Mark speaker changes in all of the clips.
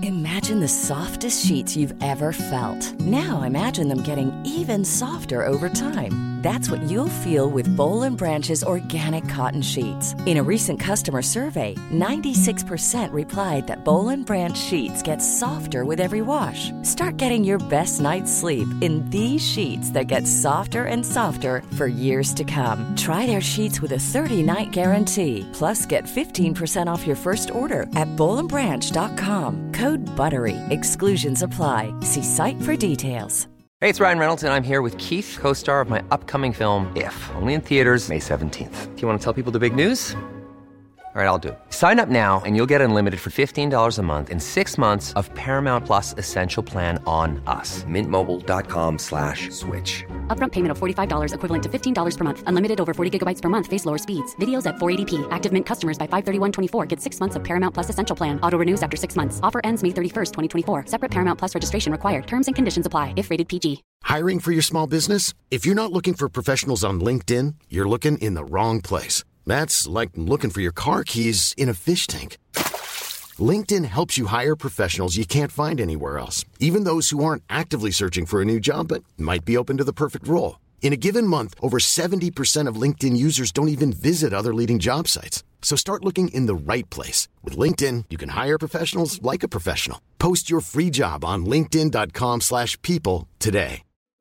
Speaker 1: Imagine the softest sheets you've ever felt. Now imagine them getting even softer over time. That's what you'll feel with Boll & Branch's organic cotton sheets. In a recent customer survey, 96% replied that Boll & Branch sheets get softer with every wash. Start getting your best night's sleep in these sheets that get softer and softer for years to come. Try their sheets with a 30-night guarantee. Plus, get 15% off your first order at bollandbranch.com. Code BUTTERY. Exclusions apply. See site for details.
Speaker 2: Hey, it's Ryan Reynolds, and I'm here with Keith, co-star of my upcoming film, If, only in theaters May 17th. Do you want to tell people the big news? All right, I'll do it. Sign up now and you'll get unlimited for $15 a month and 6 months of Paramount Plus Essential Plan on us. MintMobile.com/switch.
Speaker 3: Upfront payment of $45 equivalent to $15 per month. Unlimited over 40 gigabytes per month. Face lower speeds. Videos at 480p. Active Mint customers by 531.24 get 6 months of Paramount Plus Essential Plan. Auto renews after 6 months. Offer ends May 31st, 2024. Separate Paramount Plus registration required. Terms and conditions apply if rated PG.
Speaker 4: Hiring for your small business? If you're not looking for professionals on LinkedIn, you're looking in the wrong place. That's like looking for your car keys in a fish tank. LinkedIn helps you hire professionals you can't find anywhere else, even those who aren't actively searching for a new job but might be open to the perfect role. In a given month, over 70% of LinkedIn users don't even visit other leading job sites. So start looking in the right place. With LinkedIn, you can hire professionals like a professional. Post your free job on linkedin.com/people today.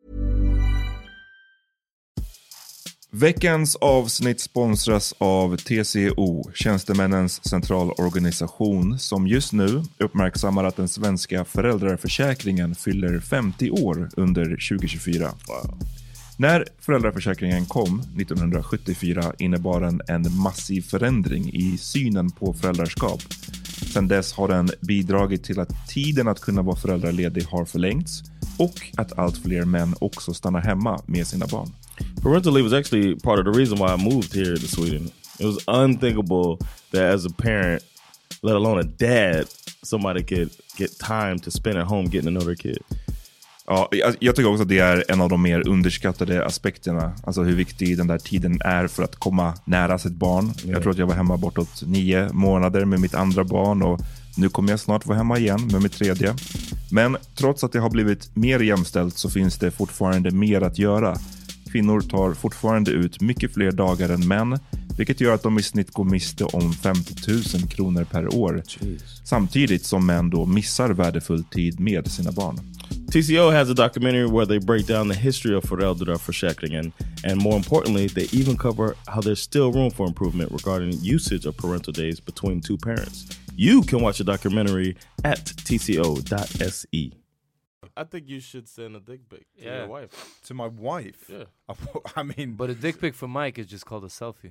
Speaker 5: Veckans avsnitt sponsras av TCO, Tjänstemännens centralorganisation, som just nu uppmärksammar att den svenska föräldraförsäkringen fyller 50 år under 2024. Wow. När föräldraförsäkringen kom 1974 innebar den en massiv förändring i synen på föräldraskap. Sedan dess har den bidragit till att tiden att kunna vara föräldraledig har förlängts och att allt fler män också stannar hemma med sina barn.
Speaker 6: Parental leave was actually part of the reason why I moved here to Sweden. It was unthinkable that as a parent, let alone a dad, somebody could get time to spend at home getting to know their kid.
Speaker 5: Ja, jag tycker också att det är en av de mer underskattade aspekterna. Alltså hur viktig den där tiden är för att komma nära sitt barn. Yeah. Jag tror att jag var hemma bortåt 9 månader med mitt andra barn och nu kommer jag snart vara hemma igen med mitt tredje. Men trots att det har blivit mer jämställt så finns det fortfarande mer att göra. Kvinnor tar fortfarande ut mycket fler dagar än män, vilket gör att de i snitt går miste om 50 000 kronor per år. Jeez. Samtidigt som män då missar värdefull tid med sina barn.
Speaker 6: TCO has a documentary where they break down the history of föräldraförsäkringen, and more importantly, they even cover how there's still room for improvement regarding usage of parental days between two parents. You can watch the documentary at tco.se.
Speaker 7: I think you should send a dick pic to your wife.
Speaker 8: To my wife?
Speaker 7: Yeah.
Speaker 8: I mean...
Speaker 7: But a dick pic for Mike is just called a selfie.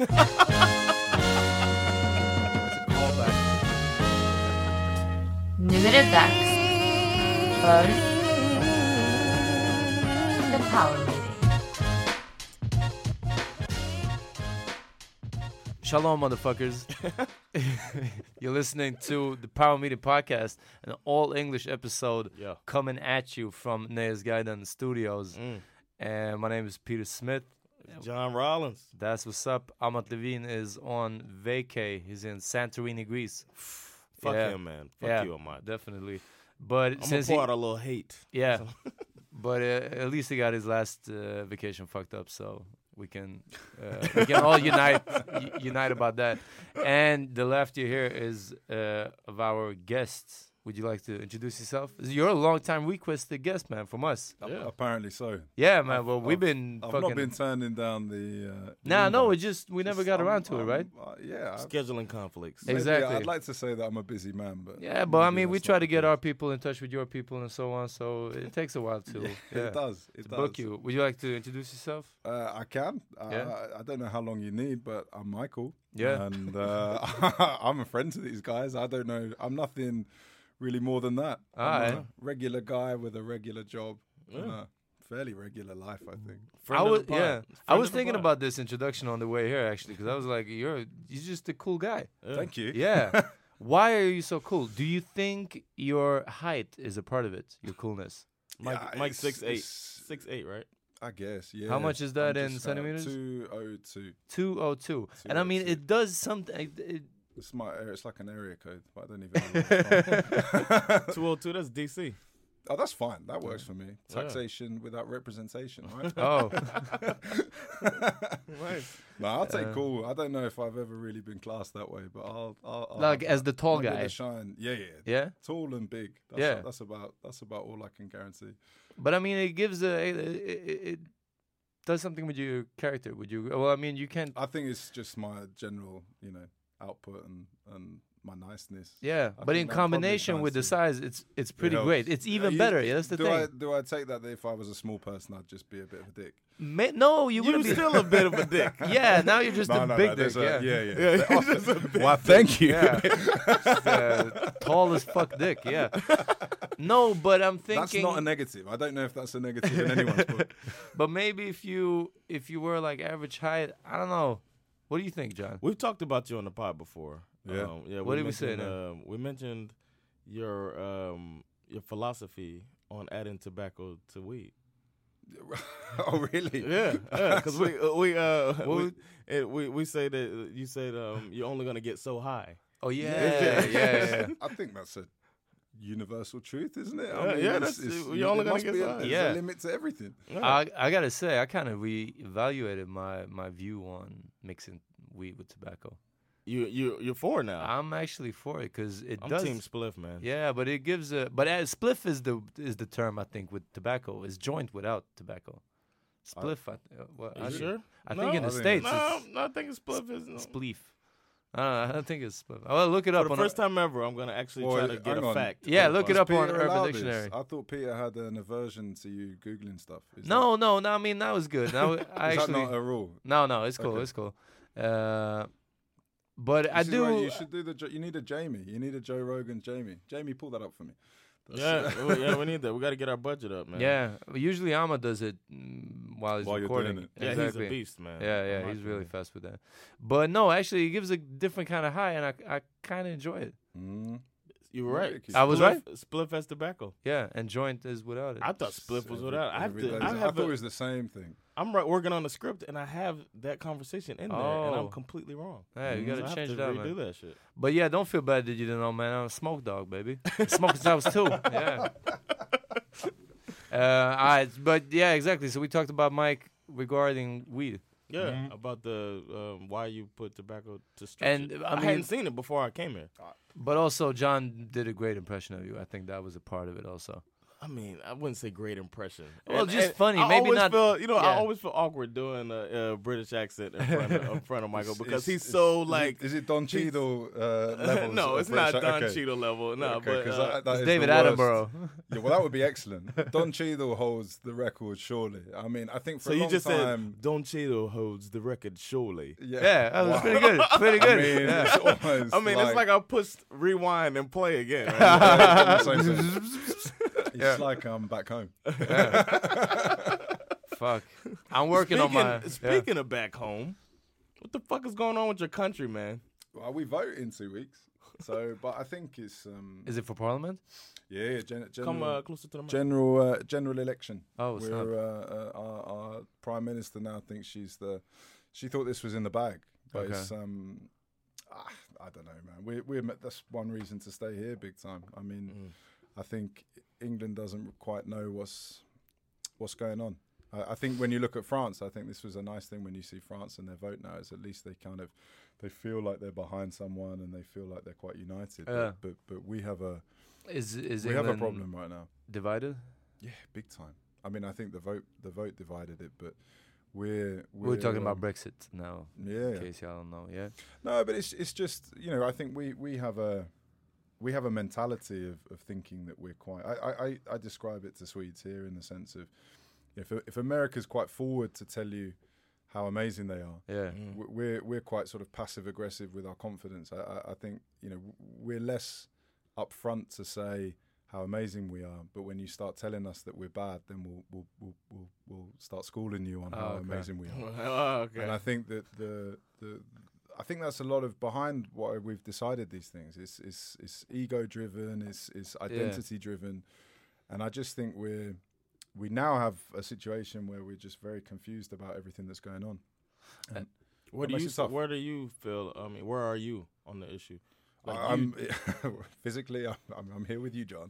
Speaker 9: Nu är det dags för The Power Meeting.
Speaker 7: Shalom, motherfuckers. You're listening to the Power Meeting Podcast, an all-English episode coming at you from Neas Gaiden Studios. And my name is Peter Smith.
Speaker 6: John Rollins.
Speaker 7: That's what's up. Amat Levine is on vacay. He's in Santorini, Greece.
Speaker 6: Fuck him, man. Fuck you, Amat.
Speaker 7: Definitely. But
Speaker 6: I'm gonna pour out a little hate.
Speaker 7: Yeah. But at least he got his last vacation fucked up, so we can all unite about that. And the left you here is of our guests. Would you like to introduce yourself? You're a long-time requested guest, man, from us.
Speaker 8: Yeah, apparently so.
Speaker 7: Yeah, man. Well, I've
Speaker 8: not been turning down the...
Speaker 7: we never got around to it, right?
Speaker 6: Scheduling conflicts.
Speaker 8: Maybe,
Speaker 7: exactly.
Speaker 8: I'd like to say that I'm a busy man, but...
Speaker 7: Yeah, but I mean, we try to get our people in touch with your people and so on, so it takes a while to...
Speaker 8: It does.
Speaker 7: Book you. Would you like to introduce yourself?
Speaker 8: I can. I don't know how long you need, but I'm Michael.
Speaker 7: Yeah.
Speaker 8: And I'm a friend to these guys. I don't know. I'm nothing... really more than that. I'm a regular guy with a regular job and a fairly regular life, I think.
Speaker 7: I was thinking about this introduction on the way here, actually, because I was like, you're just a cool guy.
Speaker 8: Thank you.
Speaker 7: Yeah. Why are you so cool? Do you think your height is a part of it, your coolness?
Speaker 6: Mike's 6'8", 6'8", right?
Speaker 8: I guess, yeah.
Speaker 7: How much is that in centimeters?
Speaker 8: 202.
Speaker 7: 202. And I mean, it does something...
Speaker 8: It's my area. It's like an area code, but I don't even know where it's from.
Speaker 6: 202, that's DC.
Speaker 8: Oh, that's fine. That works for me. Taxation without representation, right?
Speaker 7: Oh.
Speaker 6: Nice.
Speaker 8: No, I'll take cool. I don't know if I've ever really been classed that way, but I'll
Speaker 7: Like as the tall
Speaker 8: I'll give it
Speaker 7: guy.
Speaker 8: a shine. Yeah.
Speaker 7: Yeah?
Speaker 8: Tall and big. That's about all I can guarantee.
Speaker 7: But I mean, it gives it does something with your character. Would you? Well, I mean, you can't.
Speaker 8: I think it's just my general, output and my niceness.
Speaker 7: Yeah,
Speaker 8: I
Speaker 7: but
Speaker 8: think
Speaker 7: in
Speaker 8: that
Speaker 7: combination
Speaker 8: probably
Speaker 7: with the
Speaker 8: shines
Speaker 7: size, it's pretty
Speaker 8: helps.
Speaker 7: great. It's even better. Yeah, that's the thing.
Speaker 8: Do I take that if I was a small person, I'd just be a bit of a dick?
Speaker 7: No, you wouldn't be
Speaker 6: still a bit of a dick.
Speaker 7: Yeah, now you're just a big dick.
Speaker 8: Why, thank you.
Speaker 7: Yeah. Just, tall as fuck dick. Yeah. No, but I'm thinking
Speaker 8: That's not a negative. I don't know if that's a negative in anyone's book.
Speaker 7: But maybe if you were like average height, I don't know. What do you think, John?
Speaker 6: We've talked about you on the pod before.
Speaker 8: Yeah.
Speaker 6: What
Speaker 7: did we say now?
Speaker 6: We mentioned your philosophy on adding tobacco to weed.
Speaker 8: Oh, really?
Speaker 6: Yeah, because we say that you said you're only gonna get so high.
Speaker 7: Oh yeah.
Speaker 8: I think that's a universal truth, isn't it?
Speaker 6: you're only gonna get so high.
Speaker 8: There's a limit to everything.
Speaker 7: I gotta say, I kind of reevaluated my view on mixing weed with tobacco.
Speaker 6: You're for it now.
Speaker 7: I'm actually for it because
Speaker 6: I'm
Speaker 7: does.
Speaker 6: team spliff, man.
Speaker 7: Yeah, but it gives a. But spliff is the term I think with tobacco is joint without tobacco. Spliff.
Speaker 6: You sure?
Speaker 7: I think in the States.
Speaker 6: No, I think it's spliff.
Speaker 7: It's spleef. I don't think it's spliff. Well, look it up.
Speaker 6: For the first time ever, I'm gonna actually try to get a fact.
Speaker 7: Yeah, look it up on
Speaker 8: Peter
Speaker 7: Urban
Speaker 8: allowed
Speaker 7: Dictionary.
Speaker 8: this? I thought Peter had an aversion to you googling stuff.
Speaker 7: No. I mean that was good. Now I
Speaker 8: Is
Speaker 7: actually.
Speaker 8: that not a rule?
Speaker 7: No, it's cool.
Speaker 8: Okay.
Speaker 7: It's cool. But
Speaker 8: This
Speaker 7: I
Speaker 8: is
Speaker 7: do.
Speaker 8: why you should do you need a Jamie. You need a Joe Rogan Jamie. Jamie, pull that up for me.
Speaker 6: We need that. We got to get our budget up, man.
Speaker 7: Yeah, usually Amma does it while
Speaker 8: While you're
Speaker 7: recording.
Speaker 8: doing it.
Speaker 6: Yeah,
Speaker 7: Exactly.
Speaker 6: he's a beast, man.
Speaker 7: Yeah, he's really fast with that. But no, actually, it gives a different kind of high, and I kind of enjoy it.
Speaker 6: You were right.
Speaker 7: I was right?
Speaker 6: Spliff has tobacco.
Speaker 7: Yeah, and joint is without it.
Speaker 6: I thought spliff was without. I
Speaker 8: thought it was the same thing.
Speaker 6: I'm working on the script, and I have that conversation in there, and I'm completely wrong.
Speaker 7: Yeah, you gotta
Speaker 6: So
Speaker 7: change
Speaker 6: I have
Speaker 7: that,
Speaker 6: to redo
Speaker 7: man.
Speaker 6: that shit.
Speaker 7: But yeah, don't feel bad that you didn't know, man. I'm a smoke dog, baby. Smoke since I was 2. Yeah. All right, but yeah, exactly. So we talked about Mike regarding weed.
Speaker 6: Yeah, about the why you put tobacco to stretch
Speaker 7: And,
Speaker 6: it.
Speaker 7: I
Speaker 6: I
Speaker 7: mean-
Speaker 6: hadn't seen it before I came here.
Speaker 7: But also, John did a great impression of you. I think that was a part of it also.
Speaker 6: I mean, I wouldn't say great impression.
Speaker 7: Well, just funny.
Speaker 6: I
Speaker 7: Maybe
Speaker 6: always
Speaker 7: not-
Speaker 6: Feel,
Speaker 7: yeah.
Speaker 6: I always feel awkward doing a British accent in front of Michael because he's so like.
Speaker 8: Is it Don Cheadle levels?
Speaker 6: No,
Speaker 8: of
Speaker 6: it's not
Speaker 8: British-
Speaker 6: Don
Speaker 8: okay.
Speaker 6: Cheadle level. No,
Speaker 8: Okay, 'cause
Speaker 6: but
Speaker 8: that
Speaker 7: It's
Speaker 8: is
Speaker 7: David
Speaker 8: the worst.
Speaker 7: Attenborough.
Speaker 8: Yeah, well, that would be excellent. Don Cheadle holds the record, surely. I mean, I think for
Speaker 6: so
Speaker 8: a
Speaker 6: you
Speaker 8: long
Speaker 6: just
Speaker 8: time.
Speaker 6: said Don Cheadle holds the record, surely.
Speaker 7: Yeah, that was pretty good. Pretty
Speaker 8: I
Speaker 7: good.
Speaker 8: mean,
Speaker 7: Yeah.
Speaker 8: it's almost
Speaker 6: I mean, it's like I pushed rewind and play again.
Speaker 8: It's like I'm back home.
Speaker 7: Fuck. I'm working on my.
Speaker 6: Speaking of back home, what the fuck is going on with your country, man?
Speaker 8: Well, we vote in 2 weeks. So, but I think it's
Speaker 7: Is it for Parliament?
Speaker 8: yeah,
Speaker 6: Come closer to the mic.
Speaker 8: general election.
Speaker 7: Oh, snap.
Speaker 8: We're our prime minister now thinks she thought this was in the bag, but
Speaker 7: Okay.
Speaker 8: it's I don't know, man. That's one reason to stay here big time. I mean, I think England doesn't quite know what's going on. I think when you look at France, I think this was a nice thing when you see France and their vote now is at least they feel like they're behind someone and they feel like they're quite united.
Speaker 7: Yeah.
Speaker 8: But we have a
Speaker 7: Is
Speaker 8: we have a
Speaker 7: England
Speaker 8: problem right now.
Speaker 7: divided?
Speaker 8: Yeah, big time. I mean, I think the vote divided it, but we're
Speaker 7: talking about Brexit now.
Speaker 8: Yeah.
Speaker 7: In case y'all don't know. Yeah.
Speaker 8: No, but it's just I think we have a mentality of thinking that we're quite. I describe it to Swedes here in the sense of if America's quite forward to tell you how amazing they are,
Speaker 7: Yeah.
Speaker 8: we're quite sort of passive aggressive with our confidence. I think we're less upfront to say how amazing we are, but when you start telling us that we're bad, then we'll start schooling you on how amazing we are.
Speaker 6: Oh, okay.
Speaker 8: And I think that I think that's a lot of behind why we've decided these things. It's ego driven, it's identity driven, and I just think we now have a situation where we're just very confused about everything that's going on. And
Speaker 6: Where do you feel? I mean, where are you on the issue?
Speaker 8: I'm physically, I'm here with you, John.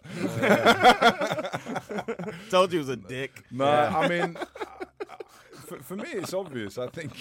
Speaker 6: Told you he was a dick.
Speaker 8: No, I mean, for me, it's obvious. I think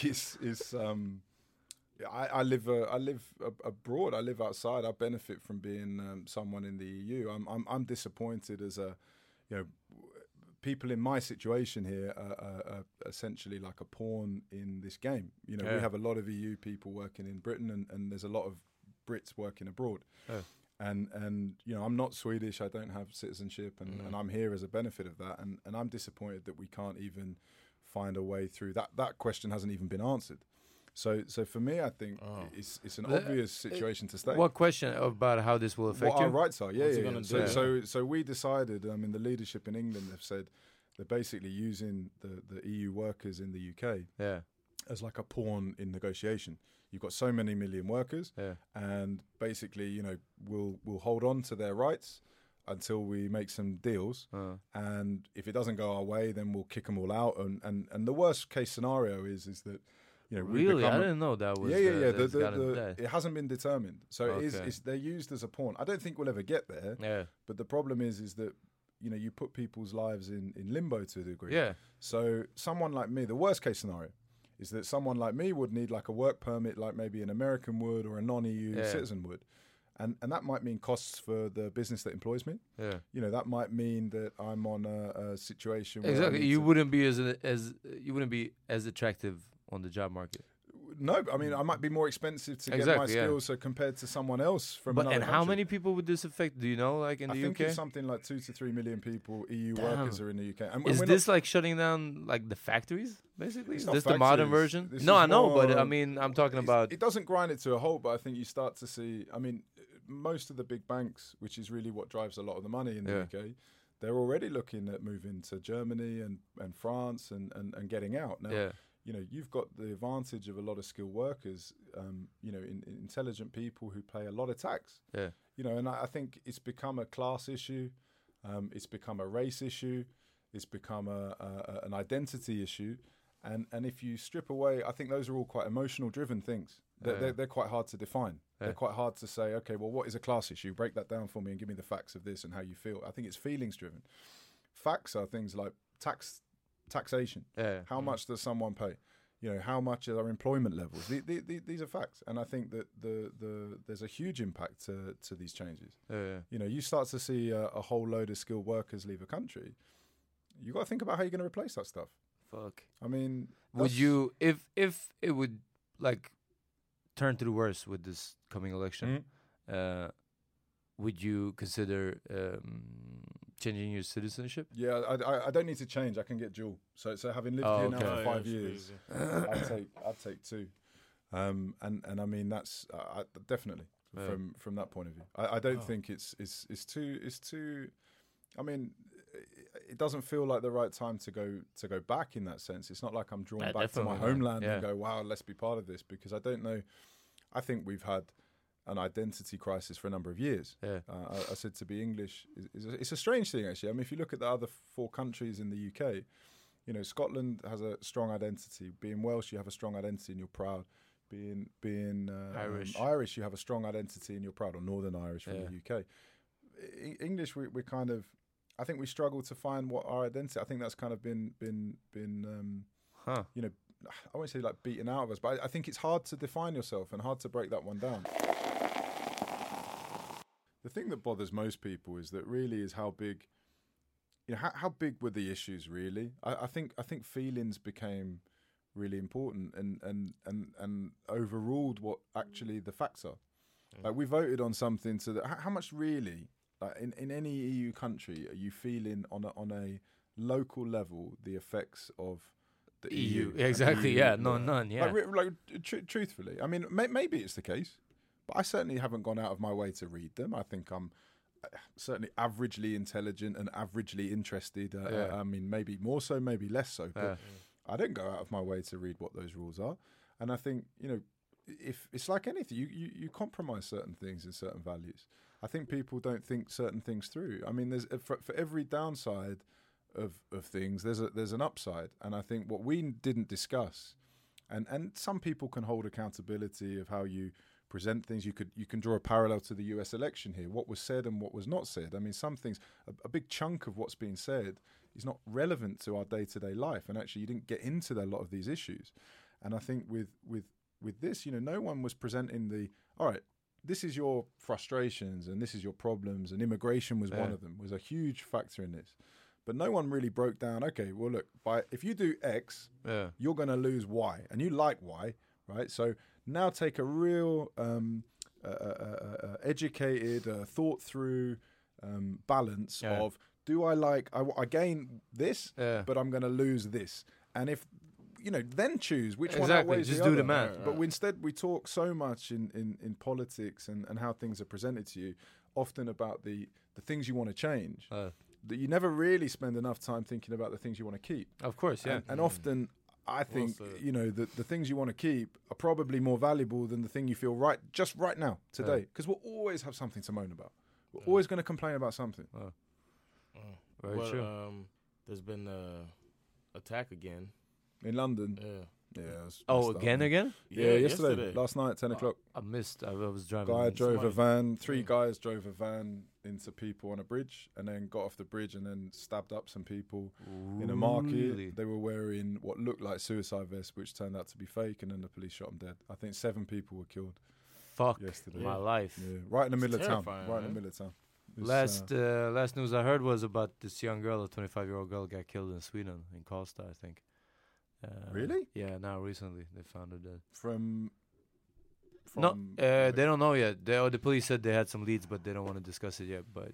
Speaker 8: I live abroad. I live outside. I benefit from being someone in the EU. I'm disappointed as people in my situation here are essentially like a pawn in this game. We have a lot of EU people working in Britain, and there's a lot of Brits working abroad. And I'm not Swedish. I don't have citizenship, and I'm here as a benefit of that. And I'm disappointed that we can't even find a way through that. That question hasn't even been answered. So for me, I think it's an obvious situation to stay.
Speaker 7: What question about how this will affect
Speaker 8: what
Speaker 7: you?
Speaker 8: our rights are? Yeah.
Speaker 7: do?
Speaker 8: So we decided. I mean, the leadership in England have said they're basically using the EU workers in the UK as like a pawn in negotiation. You've got so many million workers, and basically, we'll hold on to their rights until we make some deals. And if it doesn't go our way, then we'll kick them all out. And the worst case scenario is that,
Speaker 7: really, I didn't know that was.
Speaker 8: It hasn't been determined, so they're used as a pawn. I don't think we'll ever get there.
Speaker 7: Yeah.
Speaker 8: But the problem is that you put people's lives in limbo to a degree.
Speaker 7: Yeah.
Speaker 8: So someone like me, the worst case scenario is that someone like me would need like a work permit, like maybe an American would or a non-EU citizen would. And that might mean costs for the business that employs me. Yeah. That might mean that I'm on a situation where
Speaker 7: exactly you wouldn't be as attractive on the job market.
Speaker 8: No, I mean I might be more expensive to get my skills, so compared to someone else from another country.
Speaker 7: How many people would this affect? Do you know, like in the UK?
Speaker 8: I think it's something like 2 to 3 million people. EU workers are in the UK. And
Speaker 7: is this like shutting down like the factories? Basically, is this
Speaker 8: factories.
Speaker 7: The modern version?
Speaker 8: No,
Speaker 7: I know, but I mean, I'm talking about.
Speaker 8: It doesn't grind it to a halt, but I think you start to see. I mean, most of the big banks, which is really what drives a lot of the money in the UK, they're already looking at moving to Germany and France and getting out now. You've got the advantage of a lot of skilled workers, intelligent people who pay a lot of tax. And I think it's become a class issue, it's become a race issue, it's become an identity issue, and if you strip away, I think those are all quite emotional driven things. They're quite hard to define. They're quite hard to say, okay, well, what is a class issue? Break that down for me and give me the facts of this and how you feel. I think it's feelings driven. Facts are things like taxation. How much does someone pay? How much are our employment levels? These are facts, and I think that there's a huge impact to these changes. You start to see a whole load of skilled workers leave a country. You got to think about how you're going to replace that stuff.
Speaker 7: Fuck.
Speaker 8: I mean,
Speaker 7: would you, if it would like turn to the worst with this coming election, would you consider changing your citizenship?
Speaker 8: Yeah, I don't need to change. I can get dual. So having lived here now for 5 years, I'd take two. And I mean that's definitely from that point of view. I don't think it's too. I mean, it doesn't feel like the right time to go back in that sense. It's not like I'm drawn back to my homeland and go, wow, let's be part of this, because I don't know. I think we've had an identity crisis for a number of years. I said to be English, it's a strange thing actually. I mean, if you look at the other 4 countries in the UK, Scotland has a strong identity. Being Welsh, you have a strong identity and you're proud. Being Irish, you have a strong identity and you're proud, or Northern Irish from the UK. English, we're kind of, I think we struggle to find what our identity. I think that's kind of been I won't say like beaten out of us, but I think it's hard to define yourself and hard to break that one down. The thing that bothers most people is that really is how big, how big were the issues really? I think feelings became really important and overruled what actually the facts are. Like we voted on something so that how much really, like in any EU country, are you feeling on a local level the effects of the EU?
Speaker 7: Exactly. None. Yeah.
Speaker 8: Truthfully, I mean, maybe it's the case, but I certainly haven't gone out of my way to read them. I think I'm certainly averagely intelligent and averagely interested. I mean, maybe more so, maybe less so, but I don't go out of my way to read what those rules are. And I think, if it's like anything, you compromise certain things and certain values. I think people don't think certain things through. I mean, there's for every downside of things, there's an upside. And I think what we didn't discuss, and some people can hold accountability of how you present things. You can draw a parallel to the U.S. election here. What was said and what was not said. I mean, some things, a big chunk of what's being said is not relevant to our day-to-day life. And actually, you didn't get into a lot of these issues. And I think with this, no one was presenting all right, this is your frustrations and this is your problems, and immigration was one of them, was a huge factor in this. But no one really broke down, okay, well, look, if you do X, you're going to lose Y, and you like Y, right? So now take a real educated, thought-through balance of, do I gain this, but I'm going to lose this. And if, then choose which one outweighs
Speaker 7: just
Speaker 8: the
Speaker 7: do
Speaker 8: other.
Speaker 7: the math.
Speaker 8: But instead, we talk so much in politics and how things are presented to you, often about the things you want to change, that you never really spend enough time thinking about the things you want to keep.
Speaker 7: Of course, yeah.
Speaker 8: And often, I think, the things you want to keep are probably more valuable than the thing you feel just right now, today. Because we'll always have something to moan about. We're always going to complain about something.
Speaker 7: Very true.
Speaker 6: There's been an attack again.
Speaker 8: In London? Yeah.
Speaker 7: Again?
Speaker 8: Yeah, yesterday. Last night, 10 o'clock.
Speaker 7: I missed. I was driving.
Speaker 8: Three guys drove a van into people on a bridge and then got off the bridge and then stabbed up some people in a market.
Speaker 7: Really?
Speaker 8: They were wearing what looked like suicide vests, which turned out to be fake, and then the police shot them dead. I think 7 people were killed.
Speaker 7: Fuck
Speaker 8: yesterday.
Speaker 7: my life.
Speaker 8: Yeah, right in the middle of town.
Speaker 6: Right
Speaker 8: in the middle of town.
Speaker 7: Last news I heard was about this young girl, a 25-year-old girl, got killed in Sweden, in Karlstad, I think.
Speaker 8: Really?
Speaker 7: Yeah, now recently they found her dead.
Speaker 8: From
Speaker 7: no, they don't know yet. The police said they had some leads, but they don't want to discuss it yet. But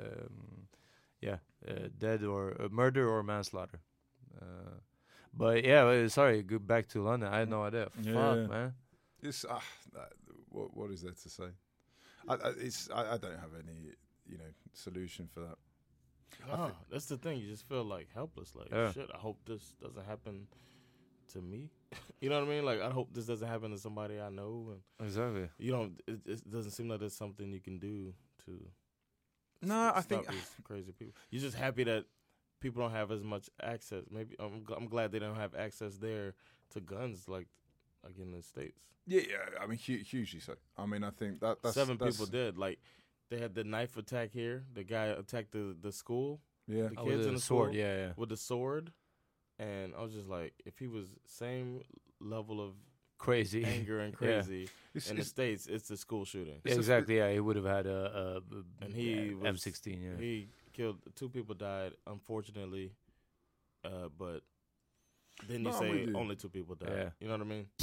Speaker 7: dead or murder or manslaughter. But yeah, sorry. Go back to London. I had no idea. Fuck, man.
Speaker 8: It's what is there to say? I don't have any solution for that.
Speaker 6: No, that's the thing. You just feel like helpless. Like shit. I hope this doesn't happen to me. You know what I mean? Like, I hope this doesn't happen to somebody I know. And
Speaker 7: exactly.
Speaker 6: It doesn't seem like there's something you can do to.
Speaker 8: I think
Speaker 6: these crazy people. You're just happy that people don't have as much access. Maybe I'm glad they don't have access there to guns like in the States.
Speaker 8: Yeah. I mean, hugely so. I mean, I think that's
Speaker 6: 7 people dead. Like, they had the knife attack here. The guy attacked the school.
Speaker 8: Yeah,
Speaker 6: the kids in the sword.
Speaker 7: School, yeah,
Speaker 6: with the sword. And I was just like, if he was same level of
Speaker 7: crazy
Speaker 6: anger and crazy in the States, it's the school shooting.
Speaker 7: Yeah, exactly. Yeah, he would have had
Speaker 6: and he was
Speaker 7: M16. Yeah,
Speaker 6: he killed 2 people died, unfortunately. But then you say only 2 people died.
Speaker 7: Yeah.
Speaker 6: You know what I mean?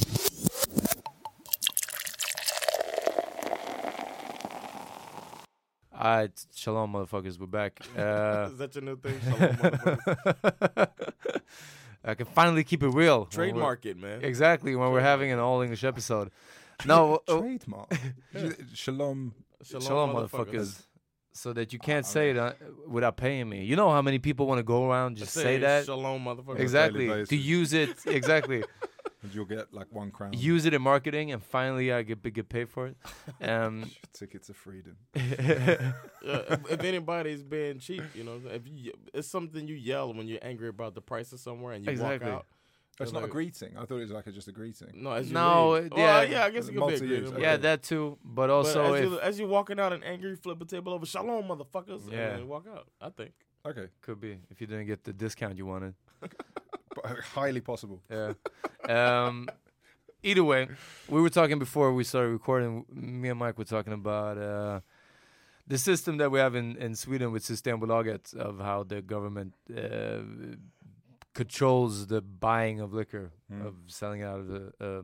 Speaker 7: Shalom, motherfuckers. We're back.
Speaker 6: Is that your new thing? Shalom, motherfuckers.
Speaker 7: I can finally keep it real.
Speaker 6: Trademark it, man.
Speaker 7: Exactly, when we're having an all-English episode. No,
Speaker 8: trademark. Shalom,
Speaker 7: motherfuckers. So that you can't say it without paying me. You know how many people want to go around just say that?
Speaker 6: Shalom, motherfuckers.
Speaker 7: Exactly. To use it. Exactly.
Speaker 8: And you'll get like £1.
Speaker 7: Use it in marketing, and finally I get paid for it.
Speaker 8: Ticket to freedom.
Speaker 6: If anybody's being cheap, it's something you yell when you're angry about the price of somewhere and you walk out.
Speaker 8: It's not a greeting. I thought it was just a greeting.
Speaker 6: No,
Speaker 7: I
Speaker 6: guess it could be a greeting.
Speaker 7: Yeah, that too. But also,
Speaker 6: as you're walking out and angry, flip a table over. Shalom, motherfuckers. And then walk out. I think.
Speaker 8: Okay.
Speaker 7: Could be if you didn't get the discount you wanted.
Speaker 8: Highly possible.
Speaker 7: Yeah. Either way, we were talking before we started recording. Me and Mike were talking about the system that we have in Sweden with Systembolaget, of how the government controls the buying of liquor, of selling out of the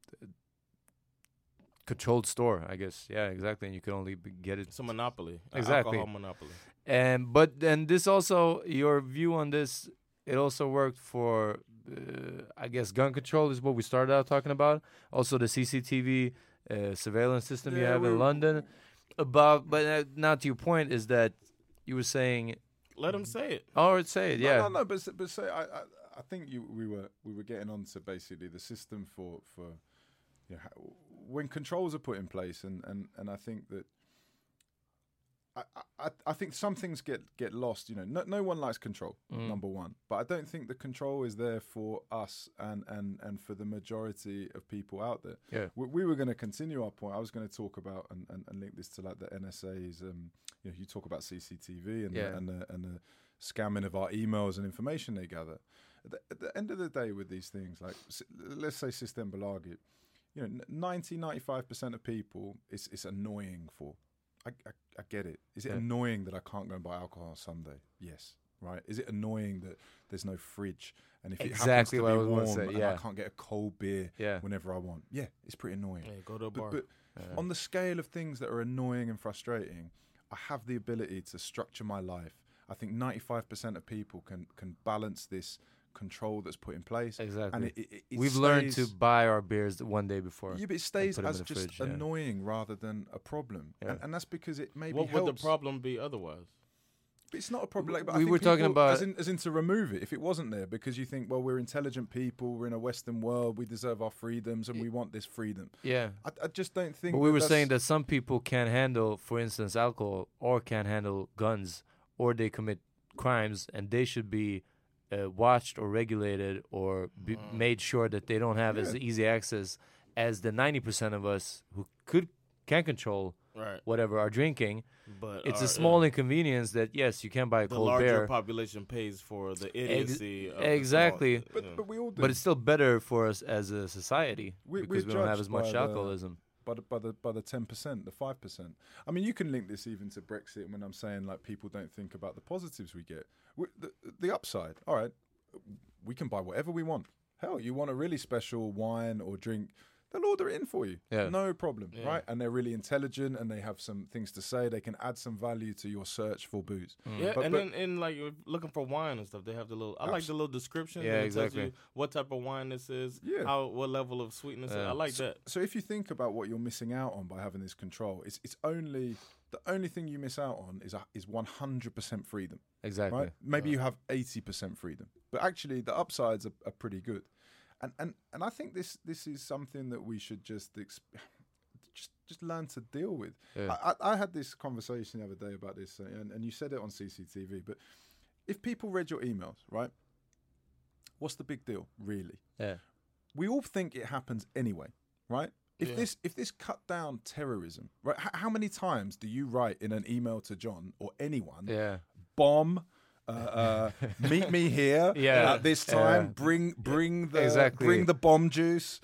Speaker 7: controlled store, I guess. Yeah, exactly. And you can only get it.
Speaker 6: It's a monopoly.
Speaker 7: Exactly.
Speaker 6: Alcohol monopoly.
Speaker 7: But then this also, your view on this, it also worked for, I guess, gun control is what we started out talking about. Also the CCTV surveillance system you have in London. But now to your point is that you were saying...
Speaker 6: Let them say it.
Speaker 7: Oh, say it, yeah.
Speaker 8: No, but say, I think we were getting on to basically the system for when controls are put in place, and I think that I think some things get lost. You know, no one likes control. Number one, but I don't think the control is there for us and for the majority of people out there.
Speaker 7: Yeah,
Speaker 8: we were going to continue our point. I was going to talk about and link this to like the NSA's. You know, you talk about CCTV and the scamming of our emails and information they gather. At the end of the day, with these things, like let's say System Belagi, you know, 95% of people, it's annoying for. I get it. Is it annoying that I can't go and buy alcohol on Sunday? Yes. Right. Is it annoying that there's no fridge and if it happens to be warm and I can't get a cold beer whenever I want? Yeah, it's pretty annoying.
Speaker 6: Yeah, go to a bar.
Speaker 8: But on the scale of things that are annoying and frustrating, I have the ability to structure my life. I think 95% of people can balance this control that's put in place.
Speaker 7: Exactly.
Speaker 8: And
Speaker 7: we've learned to buy our beers one day before.
Speaker 8: Yeah, but it stays as just
Speaker 7: fridge,
Speaker 8: annoying rather than a problem.
Speaker 7: Yeah.
Speaker 8: And that's because it maybe
Speaker 6: What
Speaker 8: helps.
Speaker 6: would the problem be otherwise?
Speaker 8: But it's not a problem. Like, but
Speaker 7: We
Speaker 8: I think
Speaker 7: were talking
Speaker 8: people,
Speaker 7: about-
Speaker 8: as in to remove it. If it wasn't there, because you think, well, we're intelligent people, we're in a Western world, we deserve our freedoms, and we want this freedom.
Speaker 7: Yeah.
Speaker 8: I just don't think.
Speaker 7: But we were
Speaker 8: that's-
Speaker 7: saying that some people can't handle, for instance, alcohol, or can't handle guns, or they commit crimes, and they should be watched or regulated or made sure that they don't have as easy access as the 90% of us who can control whatever are drinking.
Speaker 6: But
Speaker 7: it's a small inconvenience that, yes, you can buy a
Speaker 6: the
Speaker 7: cold
Speaker 6: larger
Speaker 7: beer.
Speaker 6: population pays for the idiocy. Of
Speaker 7: exactly.
Speaker 6: The small,
Speaker 8: But we all do.
Speaker 7: But it's still better for us as a society
Speaker 8: We're
Speaker 7: because we don't have as
Speaker 8: judged
Speaker 7: much
Speaker 8: by
Speaker 7: alcoholism.
Speaker 8: by the 10%, the 5%. I mean, you can link this even to Brexit when I'm saying like people don't think about the positives we get. The upside. All right, we can buy whatever we want. Hell, you want a really special wine or drink, they'll order it in for you.
Speaker 7: Yeah.
Speaker 8: No problem, right? And they're really intelligent and they have some things to say. They can add some value to your search for booze.
Speaker 6: Yeah,
Speaker 8: But-
Speaker 6: and
Speaker 8: but-
Speaker 6: then like if looking for wine and stuff, they have the little. I like the little description.
Speaker 7: Yeah,
Speaker 6: that it tells
Speaker 7: exactly.
Speaker 6: you what type of wine this is.
Speaker 8: Yeah.
Speaker 6: What level of sweetness. I like that.
Speaker 8: So if you think about what you're missing out on by having this control, it's only the only thing you miss out on is 100% freedom.
Speaker 7: Exactly.
Speaker 8: Right? Maybe you have 80% freedom, but actually the upsides are pretty good. And I think this is something that we should just learn to deal with.
Speaker 7: Yeah.
Speaker 8: I had this conversation the other day about this, and you said it on CCTV. But if people read your emails, right, what's the big deal, really?
Speaker 7: Yeah.
Speaker 8: We all think it happens anyway, right? If this cut down terrorism, right? How many times do you write in an email to John or anyone?
Speaker 7: Yeah.
Speaker 8: Bomb. Meet me here at this time. Bring the bomb juice.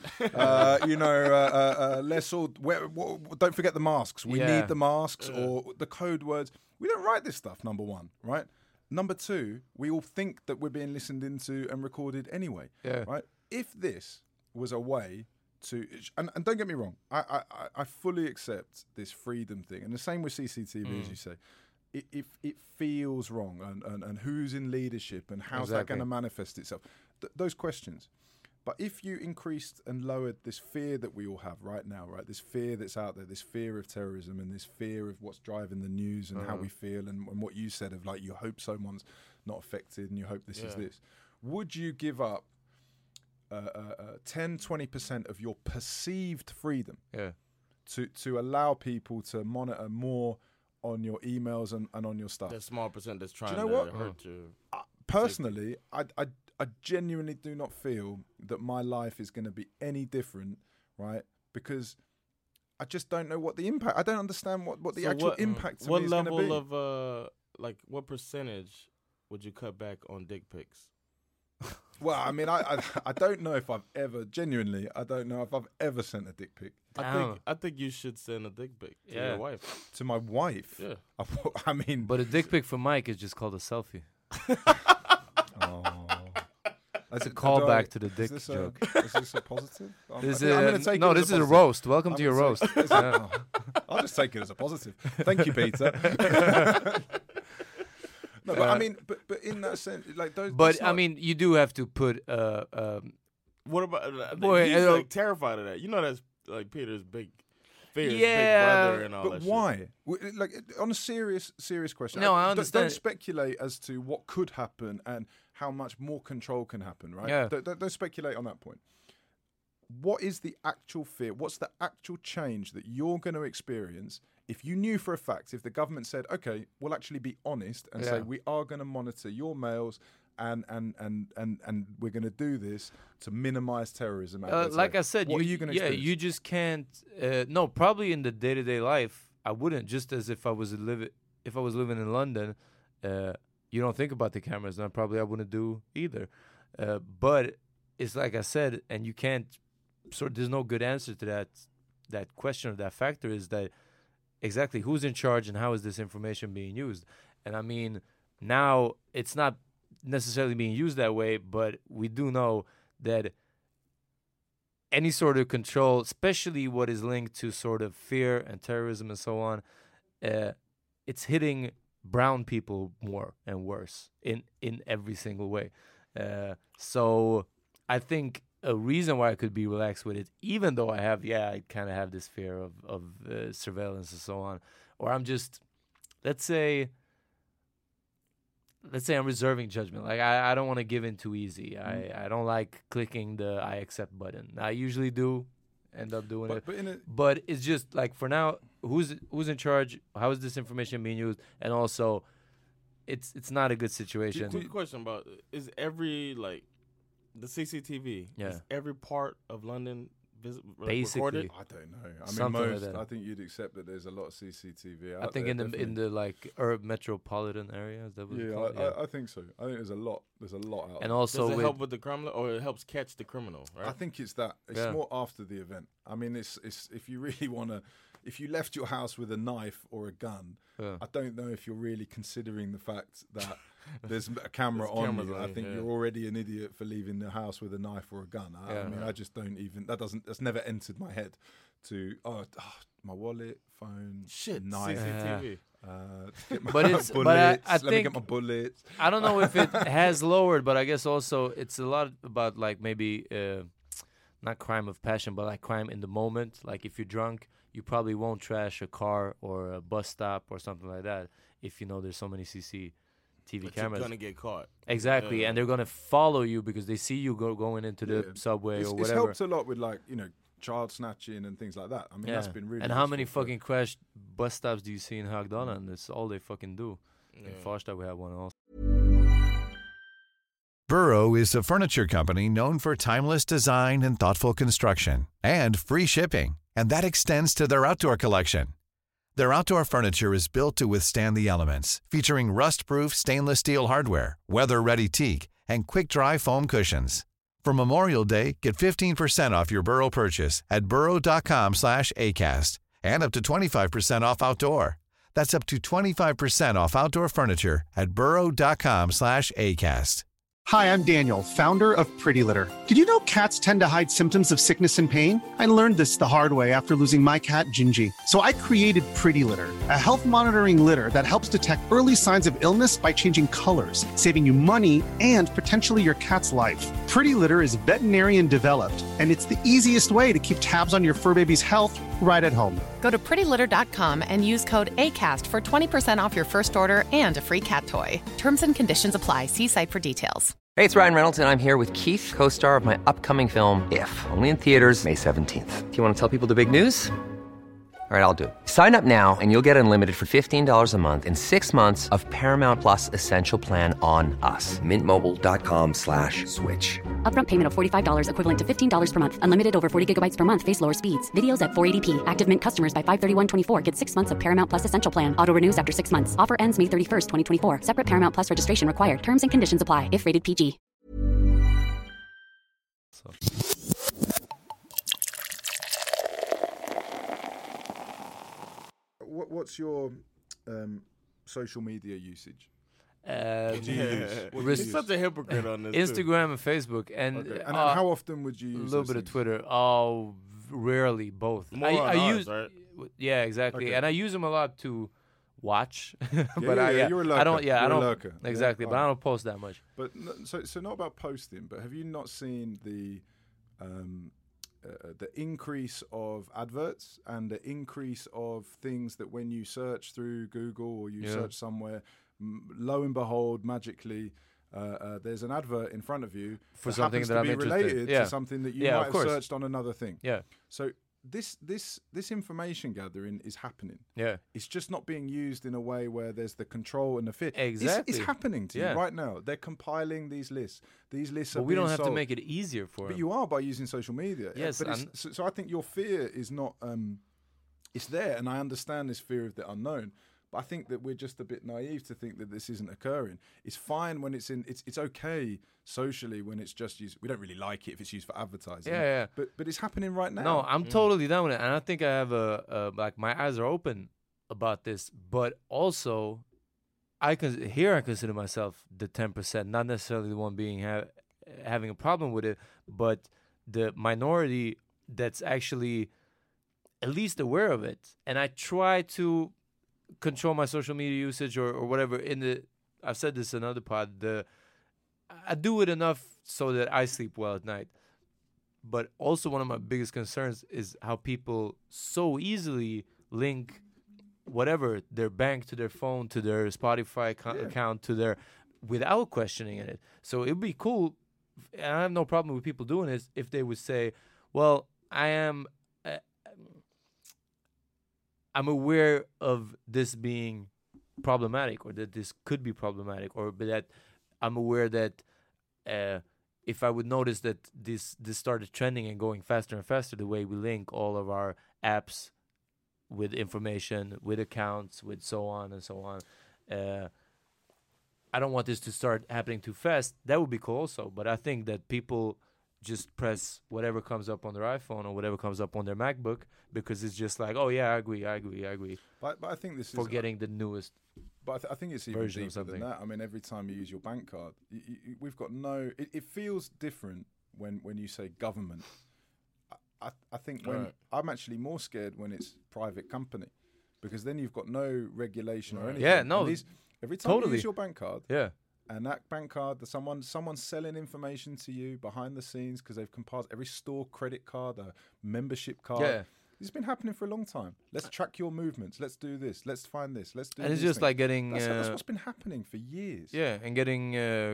Speaker 8: Let's all. Don't forget the masks. We need the masks or the code words. We don't write this stuff. Number one, right? Number two, we all think that we're being listened into and recorded anyway.
Speaker 7: Yeah.
Speaker 8: Right. If this was a way to, and don't get me wrong, I fully accept this freedom thing, and the same with CCTV, as you say. It feels wrong, and who's in leadership, and how's that going to manifest itself? Those questions. But if you increased and lowered this fear that we all have right now, right, this fear that's out there, this fear of terrorism and this fear of what's driving the news and how we feel, and what you said of like you hope someone's not affected and you hope this is this, would you give up 10-20% of your perceived freedom to allow people to monitor more on your emails and on your stuff?
Speaker 6: That small percent that's trying
Speaker 8: you know
Speaker 6: to
Speaker 8: what?
Speaker 6: hurt you.
Speaker 8: Personally, I genuinely do not feel that my life is going to be any different, right? Because I just don't know what the impact. I don't understand what the actual impact to me is going to be.
Speaker 6: What level of what percentage would you cut back on dick pics?
Speaker 8: Well, I mean, I don't know if I've ever genuinely. I don't know if I've ever sent a dick pic.
Speaker 6: I think you should send a dick pic to your wife.
Speaker 8: To my wife.
Speaker 6: Yeah.
Speaker 8: I mean,
Speaker 7: But a dick pic for Mike is just called a selfie. That's a callback to the dick joke.
Speaker 8: Is this a positive? I'm
Speaker 7: This
Speaker 8: gonna
Speaker 7: is
Speaker 8: take
Speaker 7: no.
Speaker 8: it as
Speaker 7: This is a
Speaker 8: positive.
Speaker 7: roast. Welcome to
Speaker 8: I'm
Speaker 7: your
Speaker 8: gonna
Speaker 7: roast.
Speaker 8: take-
Speaker 7: Yeah.
Speaker 8: I'll just take it as a positive. Thank you, Peter. No, but I mean, but in that sense, like those.
Speaker 7: But
Speaker 8: that's
Speaker 7: I
Speaker 8: not-
Speaker 7: mean, you do have to put.
Speaker 6: What about?
Speaker 7: Boy,
Speaker 6: he's
Speaker 7: I don't-
Speaker 6: like terrified of that. You know, that's like Peter's big fear, his
Speaker 7: Yeah,
Speaker 6: big brother, and all
Speaker 8: But
Speaker 6: that.
Speaker 8: why? Like on a serious question.
Speaker 7: No, I
Speaker 8: Don't
Speaker 7: understand.
Speaker 8: speculate as to what could happen and how much more control can happen. Right?
Speaker 7: Yeah.
Speaker 8: Don't speculate on that point. What is the actual fear? What's the actual change that you're going to experience if you knew for a fact, if the government said, okay, we'll actually be honest and say we are going to monitor your mails and we're going to do this to minimize terrorism.
Speaker 7: Like I said,
Speaker 8: what are you going to experience?
Speaker 7: you just can't. No, probably in the day-to-day life, I wouldn't. Just as if I was living in London, you don't think about the cameras, and I wouldn't do either. But it's like I said, and you can't. There's no good answer to that question or that factor. Is that exactly who's in charge and how is this information being used? And I mean, now it's not necessarily being used that way, but we do know that any sort of control, especially what is linked to sort of fear and terrorism and so on, it's hitting brown people more and worse in every single way. So I think a reason why I could be relaxed with it, even though I kind of have this fear of surveillance and so on, or I'm just, let's say I'm reserving judgment. Like I don't want to give in too easy. I don't like clicking the I accept button. I usually do end up doing it. But it's just like for now, who's in charge? How is this information being used? And also, it's not a good situation.
Speaker 6: Quick question about, is every the CCTV, is every part of London
Speaker 7: basically
Speaker 6: recorded?
Speaker 8: I don't know. I mean, I think you'd accept that there's a lot of CCTV.
Speaker 7: I think in the like metropolitan areas. That was
Speaker 8: I think so. I think there's a lot. There's a lot out.
Speaker 7: And
Speaker 8: there.
Speaker 7: also,
Speaker 6: does it help with the criminal, or it helps catch the criminal? Right.
Speaker 8: I think it's that. It's more after the event. I mean, it's if you really want to. If you left your house with a knife or a gun, I don't know if you're really considering the fact that there's a camera on you. I think you're already an idiot for leaving the house with a knife or a gun. I mean, I just don't even. That's never entered my head. My wallet, phone, knife,
Speaker 6: CCTV.
Speaker 8: Get my
Speaker 7: but it's
Speaker 8: bullets.
Speaker 7: I
Speaker 8: Let me
Speaker 7: think
Speaker 8: get my bullets.
Speaker 7: I don't know if it has lowered, but I guess also it's a lot about like maybe not crime of passion, but like crime in the moment. Like if you're drunk, you probably won't trash a car or a bus stop or something like that if you know there's so many CCTV cameras.
Speaker 6: You're gonna get caught.
Speaker 7: Exactly, and they're gonna follow you because they see you going into the subway or whatever.
Speaker 8: It's helped a lot with child snatching and things like that. I mean, that's been really.
Speaker 7: And how many fucking crashed bus stops do you see in Hagdana? And that's all they fucking do. In Farsta we have one also.
Speaker 10: Burrow is a furniture company known for timeless design and thoughtful construction and free shipping, and that extends to their outdoor collection. Their outdoor furniture is built to withstand the elements, featuring rust-proof stainless steel hardware, weather-ready teak, and quick-dry foam cushions. For Memorial Day, get 15% off your Burrow purchase at burrow.com/ACAST and up to 25% off outdoor. That's up to 25% off outdoor furniture at burrow.com/ACAST.
Speaker 11: Hi, I'm Daniel, founder of Pretty Litter. Did you know cats tend to hide symptoms of sickness and pain? I learned this the hard way after losing my cat, Gingy. So I created Pretty Litter, a health monitoring litter that helps detect early signs of illness by changing colors, saving you money and potentially your cat's life. Pretty Litter is veterinarian developed, and it's the easiest way to keep tabs on your fur baby's health right at home.
Speaker 12: Go to prettylitter.com and use code ACAST for 20% off your first order and a free cat toy. Terms and conditions apply. See site for details.
Speaker 2: Hey, it's Ryan Reynolds, and I'm here with Keith, co-star of my upcoming film, If, only in theaters May 17th. Do you want to tell people the big news? All right, I'll do it. Sign up now and you'll get unlimited for $15 a month and 6 months of Paramount Plus Essential Plan on us. MintMobile.com/switch.
Speaker 3: Upfront payment of $45 equivalent to $15 per month. Unlimited over 40 gigabytes per month. Face lower speeds. Videos at 480p. Active Mint customers by 531.24 get 6 months of Paramount Plus Essential Plan. Auto renews after 6 months. Offer ends May 31st, 2024. Separate Paramount Plus registration required. Terms and conditions apply if rated PG.
Speaker 8: What's your social media usage?
Speaker 6: You're such a hypocrite on this.
Speaker 7: Instagram and Facebook, and
Speaker 8: how often would you use
Speaker 7: a little bit of Twitter? Oh, rarely, both. I use, right? Yeah, exactly, and I use them a lot to watch. But
Speaker 8: you're a lurker.
Speaker 7: I don't. Yeah, I don't.
Speaker 8: Lurker.
Speaker 7: Exactly, but I don't post that much.
Speaker 8: But so not about posting, but have you not seen the increase of adverts and the increase of things that when you search through Google or you search somewhere, lo and behold, magically, there's an advert in front of you
Speaker 7: for something that I'm interested
Speaker 8: related to something that you might have searched on another thing.
Speaker 7: Yeah.
Speaker 8: So this information gathering is happening.
Speaker 7: Yeah.
Speaker 8: It's just not being used in a way where there's the control and the fear.
Speaker 7: Exactly.
Speaker 8: It's happening to you right now. They're compiling these lists. These lists are
Speaker 7: But we
Speaker 8: being
Speaker 7: don't have
Speaker 8: sold.
Speaker 7: to make it easier for
Speaker 8: But
Speaker 7: them.
Speaker 8: you are by using social media.
Speaker 7: Yes,
Speaker 8: But so I think your fear is not. It's there, and I understand this fear of the unknown. But I think that we're just a bit naive to think that this isn't occurring. It's fine when it's in. It's okay socially when it's just used. We don't really like it if it's used for advertising.
Speaker 7: Yeah.
Speaker 8: But it's happening right now.
Speaker 7: No, I'm totally down with it, and I think I have like my eyes are open about this. But also, I consider myself the 10%, not necessarily the one being having a problem with it, but the minority that's actually at least aware of it. And I try to control my social media usage or whatever. I've said this in another pod. I do it enough so that I sleep well at night. But also one of my biggest concerns is how people so easily link whatever, their bank to their phone, to their Spotify account, to their, without questioning it. So it would be cool, and I have no problem with people doing this, if they would say, well, I'm aware of this being problematic, or that this could be problematic, or that I'm aware that if I would notice that this started trending and going faster and faster, the way we link all of our apps with information, with accounts, with so on and so on. I don't want this to start happening too fast. That would be cool also. But I think that people just press whatever comes up on their iPhone or whatever comes up on their MacBook because it's just like, oh yeah, I agree.
Speaker 8: But I think this is
Speaker 7: forgetting the newest.
Speaker 8: But I think it's even
Speaker 7: version
Speaker 8: deeper
Speaker 7: of
Speaker 8: than
Speaker 7: something.
Speaker 8: that. I mean, every time you use your bank card, we've got no. It feels different when you say government. I think I'm actually more scared when it's private company, because then you've got no regulation or anything.
Speaker 7: Yeah, no,
Speaker 8: And every time
Speaker 7: totally.
Speaker 8: you use your bank card,
Speaker 7: Yeah.
Speaker 8: and that bank card, someone's selling information to you behind the scenes because they've compiled every store credit card, a membership card.
Speaker 7: Yeah.
Speaker 8: This has been happening for a long time. Let's track your movements. Let's do this. Let's find this. Let's do.
Speaker 7: And it's
Speaker 8: these
Speaker 7: just
Speaker 8: things.
Speaker 7: like getting.
Speaker 8: That's what's been happening for years.
Speaker 7: Yeah, and getting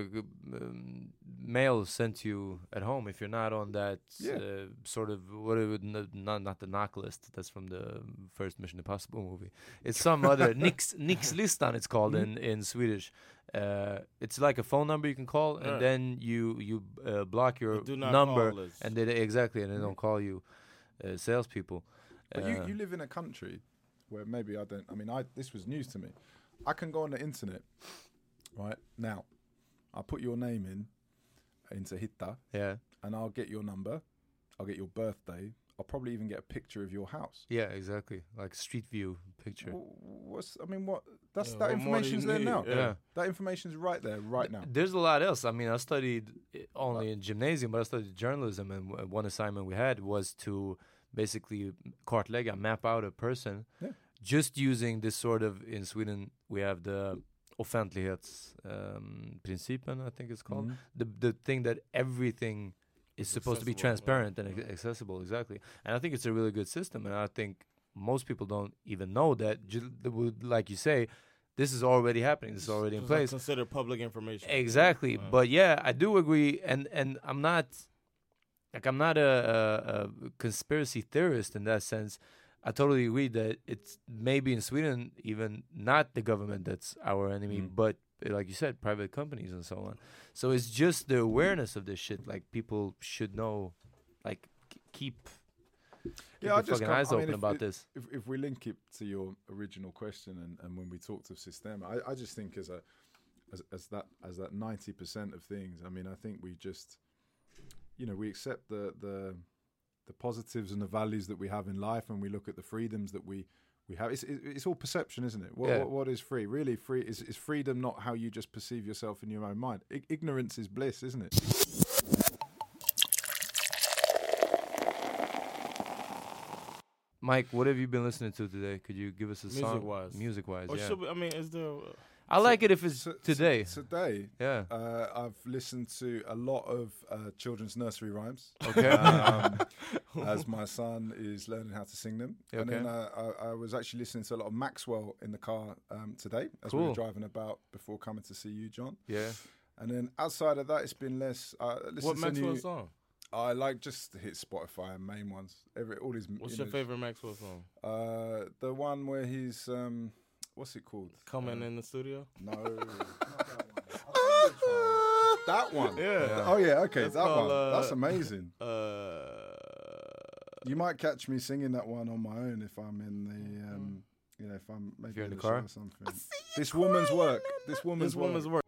Speaker 7: mail sent to you at home if you're not on that sort of not the knock list. That's from the first Mission Impossible movie. It's some other Nix-listan. It's called in Swedish. It's like a phone number you can call, and then you block your
Speaker 6: Do not
Speaker 7: number,
Speaker 6: call list.
Speaker 7: and they don't call you salespeople.
Speaker 8: But you live in a country where maybe I don't. I mean, this was news to me. I can go on the internet right now. I'll put your name into Hitta, and I'll get your number. I'll get your birthday. I'll probably even get a picture of your house.
Speaker 7: Yeah, exactly, like Street View picture.
Speaker 8: That information's there now.
Speaker 7: Yeah.
Speaker 8: That information's right there, right now.
Speaker 7: There's a lot else. I mean, I studied only in gymnasium, but I studied journalism, and one assignment we had was to basically kartlägga, map out a person, just using this sort of, in Sweden, we have the offentlighetsprincipen, I think it's called. The thing that everything is supposed to be transparent and accessible, exactly. And I think it's a really good system, and I think most people don't even know that, like you say, this is already happening. This is already in place.
Speaker 6: Considered public information.
Speaker 7: Exactly. But yeah, I do agree, and I'm not a conspiracy theorist in that sense. I totally agree that it's maybe in Sweden even not the government that's our enemy, but like you said, private companies and so on. So it's just the awareness of this shit. Like, people should know, like, keep their fucking eyes open about this.
Speaker 8: If we link it to your original question and when we talked of system, I just think as that 90% of things. I mean, I think we just, we accept the positives and the values that we have in life, and we look at the freedoms that we have. It's all perception, isn't it? What is free? Really, free is freedom not how you just perceive yourself in your own mind. Ignorance is bliss, isn't it?
Speaker 7: Mike, what have you been listening to today? Could you give us a song? Music-wise,
Speaker 6: Or
Speaker 7: yeah.
Speaker 6: is there...
Speaker 7: I like it if it's today.
Speaker 8: Today,
Speaker 7: yeah.
Speaker 8: I've listened to a lot of children's nursery rhymes.
Speaker 7: Okay.
Speaker 8: As my son is learning how to sing them.
Speaker 7: Okay.
Speaker 8: And then I was actually listening to a lot of Maxwell in the car today as we were driving about before coming to see you, John.
Speaker 7: Yeah.
Speaker 8: And then outside of that, it's been less.
Speaker 6: What Maxwell song?
Speaker 8: I like just hit Spotify and main ones. All his.
Speaker 6: What's your favorite Maxwell song?
Speaker 8: The one where he's what's it called?
Speaker 6: Coming in the studio?
Speaker 8: No, not that one.
Speaker 6: Yeah.
Speaker 8: Oh yeah. Okay,
Speaker 6: That's
Speaker 8: that
Speaker 6: called,
Speaker 8: one. That's amazing. You might catch me singing that one on my own if I'm in the, if I'm maybe
Speaker 7: you're in the
Speaker 8: show
Speaker 7: car?
Speaker 8: or something. This woman's work. This woman's work.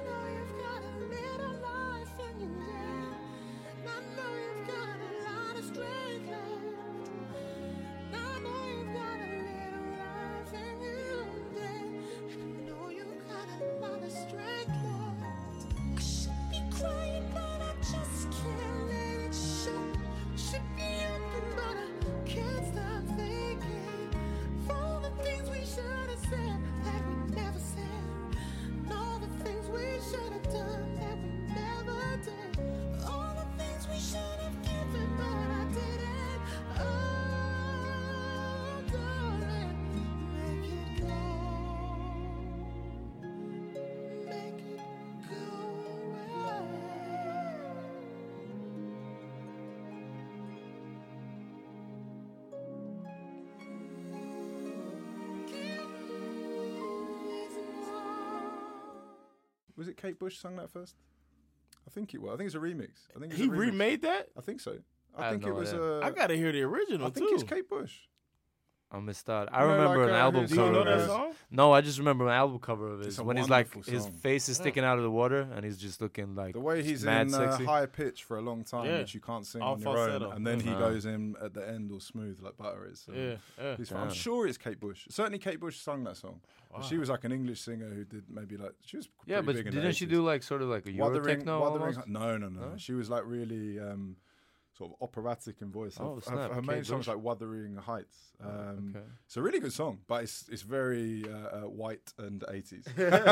Speaker 8: Was it Kate Bush sung that first? I think it was. I think it's a remix. I think it's
Speaker 6: He
Speaker 8: a remix.
Speaker 6: remade that?
Speaker 8: I think so.
Speaker 7: I
Speaker 8: I think
Speaker 7: have
Speaker 8: it
Speaker 7: no
Speaker 8: was
Speaker 7: idea.
Speaker 6: I gotta hear the original
Speaker 8: I think
Speaker 6: too.
Speaker 8: it's Kate Bush.
Speaker 7: I missed out. I
Speaker 8: You know,
Speaker 7: remember
Speaker 8: like,
Speaker 7: an album
Speaker 8: his-
Speaker 6: Do you
Speaker 7: cover.
Speaker 6: know
Speaker 7: of
Speaker 6: that
Speaker 7: his.
Speaker 6: song?
Speaker 7: No, I just remember an album cover of his
Speaker 8: It's a
Speaker 7: when he's like
Speaker 8: wonderful
Speaker 7: his
Speaker 8: song.
Speaker 7: face is sticking out of the water and he's just looking like
Speaker 8: The way he's
Speaker 7: mad
Speaker 8: in
Speaker 7: sexy.
Speaker 8: high pitch for a long time,
Speaker 6: Yeah.
Speaker 8: which you can't sing
Speaker 6: All
Speaker 8: on your
Speaker 6: falsetto.
Speaker 8: own, and then he
Speaker 7: Uh-huh.
Speaker 8: goes in at the end all smooth like butter is. So
Speaker 6: Yeah, yeah.
Speaker 8: he's- I'm sure it's Kate Bush. Certainly Kate Bush sung that song. But she was like an English singer who did maybe like she was
Speaker 7: Yeah,
Speaker 8: pretty
Speaker 7: but
Speaker 8: big in the
Speaker 7: didn't she
Speaker 8: 80s.
Speaker 7: do like sort of like a Euro techno almost?
Speaker 8: No.
Speaker 7: No?
Speaker 8: She was like really sort of operatic in voice.
Speaker 7: Oh,
Speaker 8: Her-
Speaker 7: snap.
Speaker 8: her main
Speaker 7: Kate
Speaker 8: song's
Speaker 7: Bush.
Speaker 8: like Wuthering Heights.
Speaker 7: Okay.
Speaker 8: It's a really good song, but it's very white and 80s.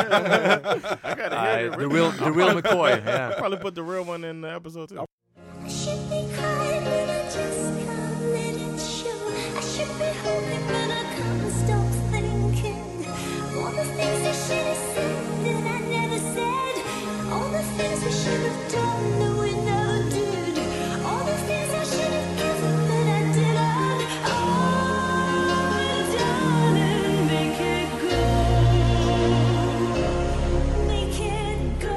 Speaker 6: I gotta hear
Speaker 7: the real McCoy. Yeah.
Speaker 6: I'll probably put the real one in the episode too.
Speaker 13: I should be crying, but I just can't let it show. I should be hoping, but I can't stop thinking. All the things I should have said that I never said. All the things we should have done that we never did. All the things I should have given that I didn't. Oh, darling, make it go. Make it go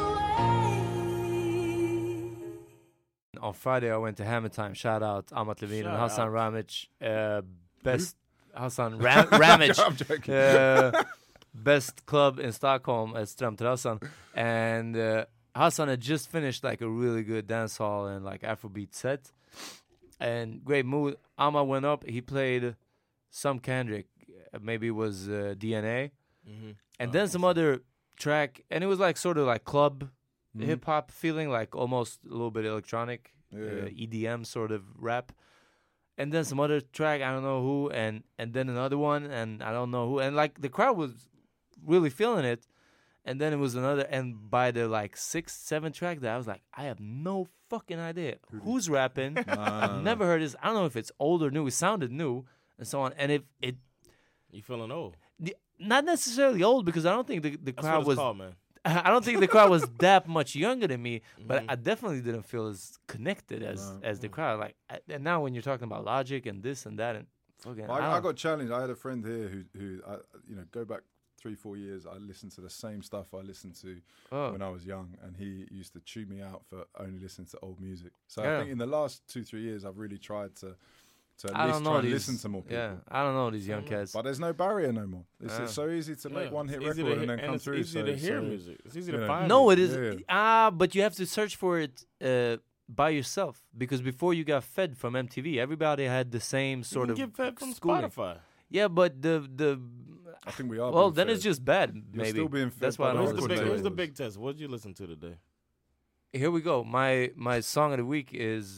Speaker 13: away.
Speaker 7: On Friday, I went to Hammer Time. Shout out Amat Levine and
Speaker 6: Shout
Speaker 7: Hassan
Speaker 6: out.
Speaker 7: Ramic. Best Hassan Ramic.
Speaker 8: I'm joking.
Speaker 7: Best club in Stockholm at Strömterrassen. And Hassan had just finished like a really good dance hall and like Afrobeat set. And great mood. Amma went up. He played some Kendrick. Maybe it was DNA. And then some other track. And it was like sort of like club hip hop feeling, like almost a little bit electronic, EDM sort of rap. And then some other track, I don't know who, and then another one, and I don't know who. And like the crowd was really feeling it. And then it was another, and by the like 6th, 7th track, that I was like, I have no fucking idea who's rapping. I've never heard this. I don't know if it's old or new. It sounded new, and so on. And if it,
Speaker 6: You feeling old?
Speaker 7: not necessarily old, because I don't think the
Speaker 6: That's
Speaker 7: crowd
Speaker 6: what it's
Speaker 7: was.
Speaker 6: called, man.
Speaker 7: I don't think the crowd was that much younger than me, but I definitely didn't feel as connected as the crowd. Like, and now when you're talking about Logic and this and that and fucking,
Speaker 8: I got challenged. I had a friend here who go back 3-4 years. I listened to the same stuff I listened to when I was young, and he used to chew me out for only listening to old music. So I think in the last 2-3 years, I've really tried to at least try and listen to more people.
Speaker 7: Yeah, I don't know these young cats.
Speaker 8: But there's no barrier no more. It's so easy to make one hit
Speaker 6: It's easy
Speaker 8: record
Speaker 6: to
Speaker 8: and then come
Speaker 6: it's
Speaker 8: through.
Speaker 6: easy to hear music. It's easy to find
Speaker 7: No,
Speaker 6: music.
Speaker 7: it is. But you have to search for it by yourself, because before you got fed from MTV, everybody had the same sort
Speaker 6: You
Speaker 7: of
Speaker 6: can get fed from
Speaker 7: schooling.
Speaker 6: Spotify.
Speaker 7: Yeah, but the
Speaker 8: I think we are.
Speaker 7: well,
Speaker 8: being
Speaker 7: then
Speaker 8: fed.
Speaker 7: it's just bad.
Speaker 8: You're
Speaker 7: Maybe
Speaker 8: still being fed
Speaker 7: that's
Speaker 8: by
Speaker 7: why I
Speaker 8: the
Speaker 7: don't
Speaker 8: record
Speaker 7: listen to
Speaker 8: labels.
Speaker 6: Here's
Speaker 7: it.
Speaker 6: the big test. What did you listen to today?
Speaker 7: Here we go. My song of the week is.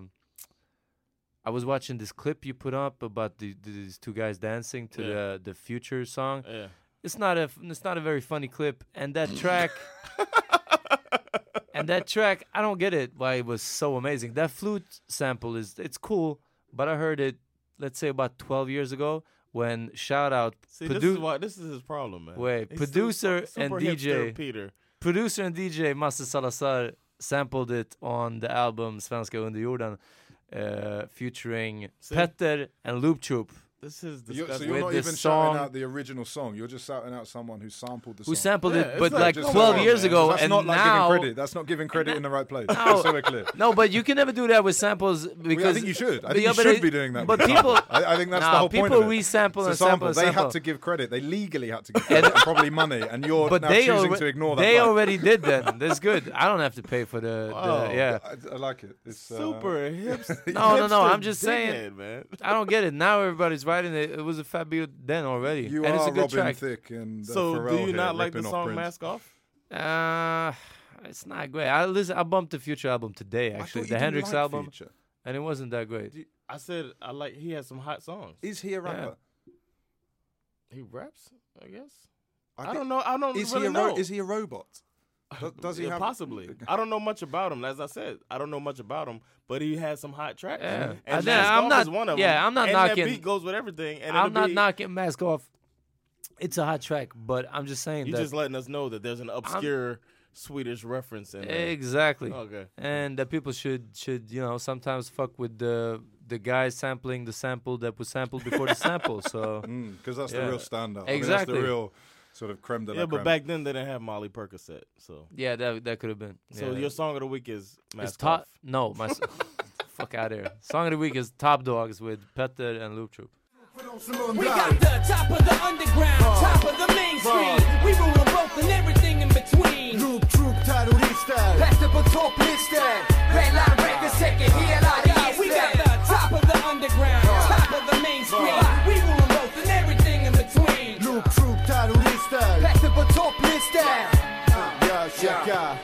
Speaker 7: I was watching this clip you put up about these two guys dancing to the Future song.
Speaker 6: Yeah.
Speaker 7: It's not a very funny clip, and that track. And that track, I don't get it why it was so amazing. That flute sample it's cool, but I heard it, let's say about 12 years ago, when shout out
Speaker 6: See, this is his problem, man.
Speaker 7: Wait,
Speaker 6: He's
Speaker 7: producer
Speaker 6: super
Speaker 7: and
Speaker 6: hipster
Speaker 7: DJ
Speaker 6: Peter.
Speaker 7: Producer and DJ Master Salazar sampled it on the album Svenska Underjorden, featuring Petter and Loop Troop.
Speaker 6: This is
Speaker 8: So you're
Speaker 7: with
Speaker 8: not
Speaker 7: the
Speaker 8: even
Speaker 7: song-
Speaker 8: shouting out the original song. You're just shouting out someone who sampled the song.
Speaker 7: Who sampled it,
Speaker 6: it's
Speaker 7: but
Speaker 6: like-
Speaker 7: like
Speaker 6: just
Speaker 7: 12
Speaker 6: come on,
Speaker 7: years
Speaker 6: man.
Speaker 7: ago,
Speaker 8: That's
Speaker 7: and
Speaker 8: not like
Speaker 7: now.
Speaker 8: giving credit. That's not giving credit in the right place. Just so we're clear.
Speaker 7: No, but you can never do that with samples because
Speaker 8: I think you should. I think
Speaker 7: Yeah,
Speaker 8: you
Speaker 7: but
Speaker 8: should
Speaker 7: it-
Speaker 8: be doing that.
Speaker 7: But
Speaker 8: with
Speaker 7: people,
Speaker 8: samples. I think that's
Speaker 7: nah,
Speaker 8: the whole point
Speaker 7: people
Speaker 8: of it.
Speaker 7: resample
Speaker 8: It's a
Speaker 7: and sample.
Speaker 8: They had to give credit. They legally had to give credit and probably money, and you're
Speaker 7: But
Speaker 8: now
Speaker 7: they
Speaker 8: choosing to ignore that.
Speaker 7: They
Speaker 8: right.
Speaker 7: already did that. That's good. I don't have to pay for the yeah.
Speaker 8: I like it. It's
Speaker 6: super hipster.
Speaker 7: No. I'm just saying.
Speaker 6: dickhead, man.
Speaker 7: I don't get it. Now everybody's writing it. It was a fat beat then already,
Speaker 8: You
Speaker 7: and
Speaker 8: are
Speaker 7: it's a good
Speaker 8: Robin
Speaker 7: track.
Speaker 8: Thicke and
Speaker 6: So
Speaker 8: Pharrell
Speaker 6: do you
Speaker 8: here,
Speaker 6: not like the
Speaker 8: ripping off
Speaker 6: song
Speaker 8: Prince.
Speaker 6: Mask Off?
Speaker 7: It's not great. I bumped the Future album today,
Speaker 8: I
Speaker 7: actually,
Speaker 8: thought
Speaker 7: the
Speaker 8: you didn't
Speaker 7: Hendrix
Speaker 8: like
Speaker 7: album,
Speaker 8: Future.
Speaker 7: and it wasn't that great.
Speaker 6: I said he has some hot songs.
Speaker 8: Is he a rapper?
Speaker 6: He raps, I guess.
Speaker 8: I
Speaker 6: don't know. I don't
Speaker 8: Is
Speaker 6: really
Speaker 8: he
Speaker 6: know.
Speaker 8: Is he a robot? Does he
Speaker 6: Yeah,
Speaker 8: have
Speaker 6: possibly? I don't know much about him. As I said, I don't know much about him, but he has some hot tracks.
Speaker 7: Yeah.
Speaker 6: And
Speaker 7: I'm
Speaker 6: Mask Off
Speaker 7: not-
Speaker 6: is one of
Speaker 7: yeah,
Speaker 6: them.
Speaker 7: I'm not
Speaker 6: and
Speaker 7: knocking-
Speaker 6: That beat goes with everything. And
Speaker 7: I'm
Speaker 6: it'll
Speaker 7: not
Speaker 6: be-
Speaker 7: knocking Mask Off. It's a hot track, but I'm just saying
Speaker 6: You're
Speaker 7: that
Speaker 6: just letting us know that there's an obscure Swedish reference in there.
Speaker 7: exactly.
Speaker 6: Okay.
Speaker 7: And that people should sometimes fuck with the guy sampling the sample that was sampled before the sample. So
Speaker 8: because that's
Speaker 7: yeah.
Speaker 8: the real standout.
Speaker 7: Exactly.
Speaker 8: I mean, that's the real sort of creme de la
Speaker 6: Yeah, but
Speaker 8: creme.
Speaker 6: back then they didn't have Molly Percocet. So
Speaker 7: yeah, that could have been.
Speaker 6: So
Speaker 7: yeah.
Speaker 6: your song of the week is
Speaker 7: It's
Speaker 6: Mask
Speaker 7: top.
Speaker 6: Off.
Speaker 7: No, my fuck out of here. Song of the week is Top Dogs with Petter and Loop Troop.
Speaker 14: We got the top of the underground, top of the mainstream. We rule them both and everything in between.
Speaker 15: Loop Troop terrorister, Petter på topplistor. Redline Records täcker hela
Speaker 14: We got the top of the underground, top of the mainstream. We rule them both and everything in between.
Speaker 15: Loop Troop terrorister, Petter på topplistor. Ja, checka.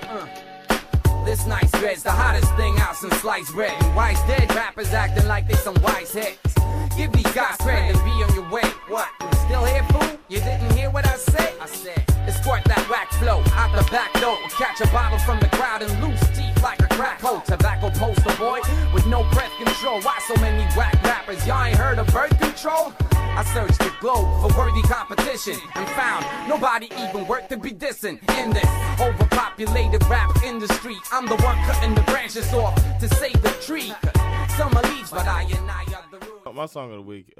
Speaker 14: This nice bread's the hottest thing out since sliced bread. And wise dead rappers acting like they some wise heads. Give these guys credit and be on your way. What? You still here, fool? You didn't hear what I said? I said, escort that wax flow out the back door. Catch a bottle from the crowd and loose teeth like a crack hoe. Tobacco poster boy with no breath control. Why so many whack rappers? Y'all ain't heard of birth control? I searched the globe for worthy competition and found nobody even worth to be dissing in this overpopulated rap industry. I'm the one cutting the branches off to save the tree. Summer leaves, but I are the rule.
Speaker 6: My song of the week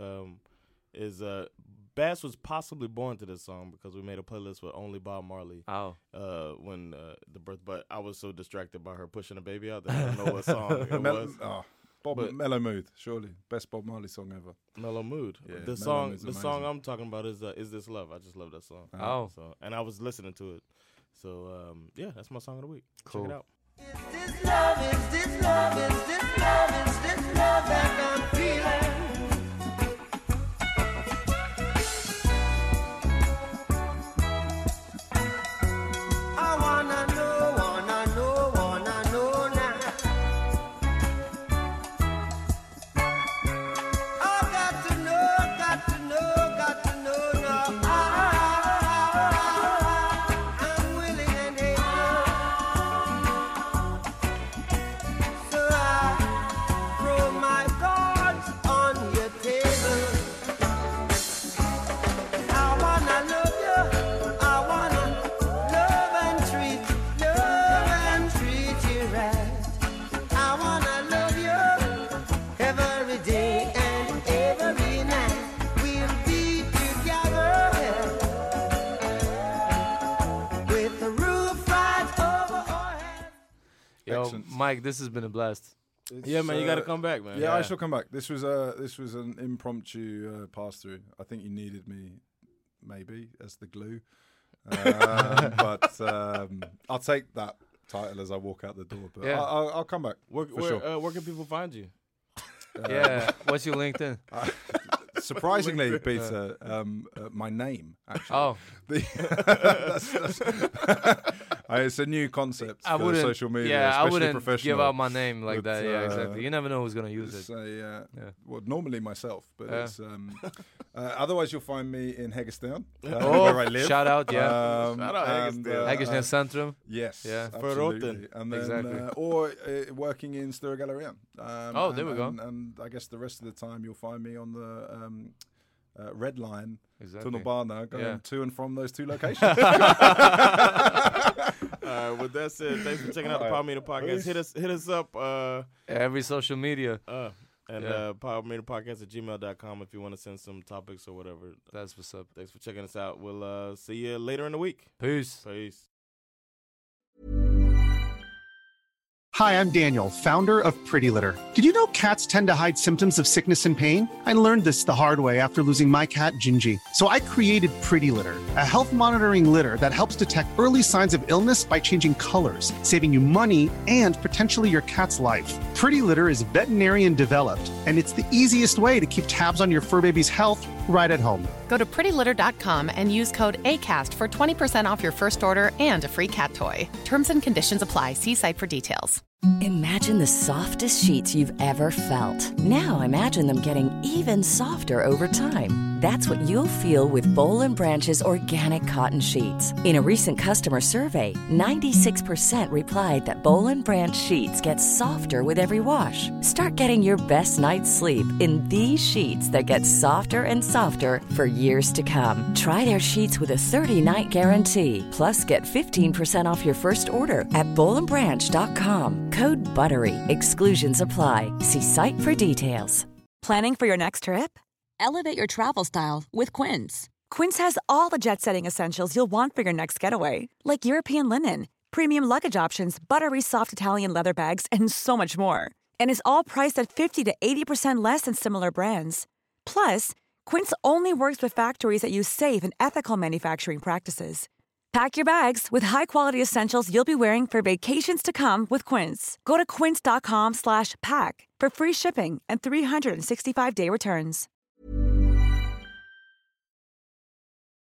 Speaker 6: is Bass was possibly born to this song because we made a playlist with only Bob Marley. When the birth, but I was so distracted by her pushing a baby out that I don't know what song it was.
Speaker 8: Mellow Mood, surely best Bob Marley song ever.
Speaker 6: Mellow Mood.
Speaker 8: Yeah,
Speaker 6: The
Speaker 8: Mellow Mood's
Speaker 6: song
Speaker 8: amazing.
Speaker 6: I'm talking about is This Love. I just love that song. So, and I was listening to it. So yeah, that's my song of the week.
Speaker 7: Cool.
Speaker 6: Check it out.
Speaker 15: This love that I'm feeling. I wanna know now. I got to know now. I'm willing and able. So I throw my cards on your table. I wanna love you. I wanna love and treat you right. I wanna love you every day and every night. We'll be together with the roof right over our heads.
Speaker 7: Yo,
Speaker 8: Excellent.
Speaker 7: Mike, this has been a blast.
Speaker 6: Yeah, man, you got to come back, man.
Speaker 8: Yeah, I shall come back. This was an impromptu pass through. I think you needed me, maybe as the glue, but I'll take that title as I walk out the door. But
Speaker 7: Yeah.
Speaker 8: I'll come back.
Speaker 6: Where can people find you?
Speaker 7: Yeah, what's your LinkedIn?
Speaker 8: Surprisingly, Peter, my name actually.
Speaker 7: Oh.
Speaker 8: It's a new concept
Speaker 7: I
Speaker 8: for
Speaker 7: wouldn't.
Speaker 8: social media,
Speaker 7: Yeah, I
Speaker 8: especially
Speaker 7: wouldn't
Speaker 8: professional.
Speaker 7: give out my name like
Speaker 8: But,
Speaker 7: that. Yeah, exactly. You never know who's gonna use it.
Speaker 8: Say, well, normally myself, but
Speaker 7: Yeah.
Speaker 8: it's otherwise you'll find me in Heggestown,
Speaker 7: Oh,
Speaker 8: where I live.
Speaker 7: shout out, yeah.
Speaker 6: Shout out Heggestown.
Speaker 7: Heggersnes Centrum.
Speaker 8: Yes,
Speaker 7: Yeah.
Speaker 8: absolutely. And then,
Speaker 7: Exactly.
Speaker 8: or working in Stora Gallerian.
Speaker 7: Oh, there we go.
Speaker 8: And I guess the rest of the time you'll find me on the Red Line,
Speaker 7: Exactly.
Speaker 8: Tunnelbana, going
Speaker 7: Yeah.
Speaker 8: to and from those two locations.
Speaker 6: With That's it. Thanks for checking out the Power Meter Podcast. Hit us up.
Speaker 7: Every social media.
Speaker 6: PowerMeterPodcast@gmail.com if you want to send some topics or whatever.
Speaker 7: That's what's up.
Speaker 6: Thanks for checking us out. We'll see you later in the week.
Speaker 7: Peace.
Speaker 6: Peace.
Speaker 11: Hi, I'm Daniel, founder of Pretty Litter. Did you know cats tend to hide symptoms of sickness and pain? I learned this the hard way after losing my cat, Gingy. So I created Pretty Litter, a health monitoring litter that helps detect early signs of illness by changing colors, saving you money and potentially your cat's life. Pretty Litter is veterinarian developed, and it's the easiest way to keep tabs on your fur baby's health right at home.
Speaker 12: Go to prettylitter.com and use code ACAST for 20% off your first order and a free cat toy. Terms and conditions apply. See site for details.
Speaker 1: Imagine the softest sheets you've ever felt. Now imagine them getting even softer over time. That's what you'll feel with Boll & Branch's organic cotton sheets. In a recent customer survey, 96% replied that Boll & Branch sheets get softer with every wash. Start getting your best night's sleep in these sheets that get softer and softer for years to come. Try their sheets with a 30-night guarantee. Plus, get 15% off your first order at bollandbranch.com. Code BUTTERY. Exclusions apply. See site for details.
Speaker 16: Planning for your next trip? Elevate your travel style with Quince. Quince has all the jet-setting essentials you'll want for your next getaway, like European linen, premium luggage options, buttery soft Italian leather bags, and so much more. And is all priced at 50 to 80% less than similar brands. Plus, Quince only works with factories that use safe and ethical manufacturing practices. Pack your bags with high-quality essentials you'll be wearing for vacations to come with Quince. Go to quince.com/pack for free shipping and 365-day returns.